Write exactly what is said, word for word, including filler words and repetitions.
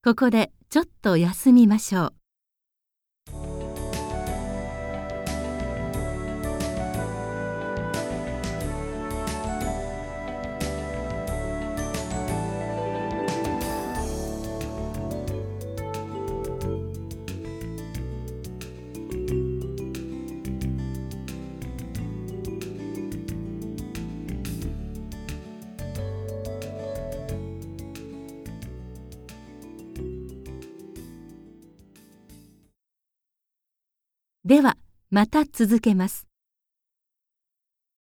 ここでちょっと休みましょう。ではまた続けます。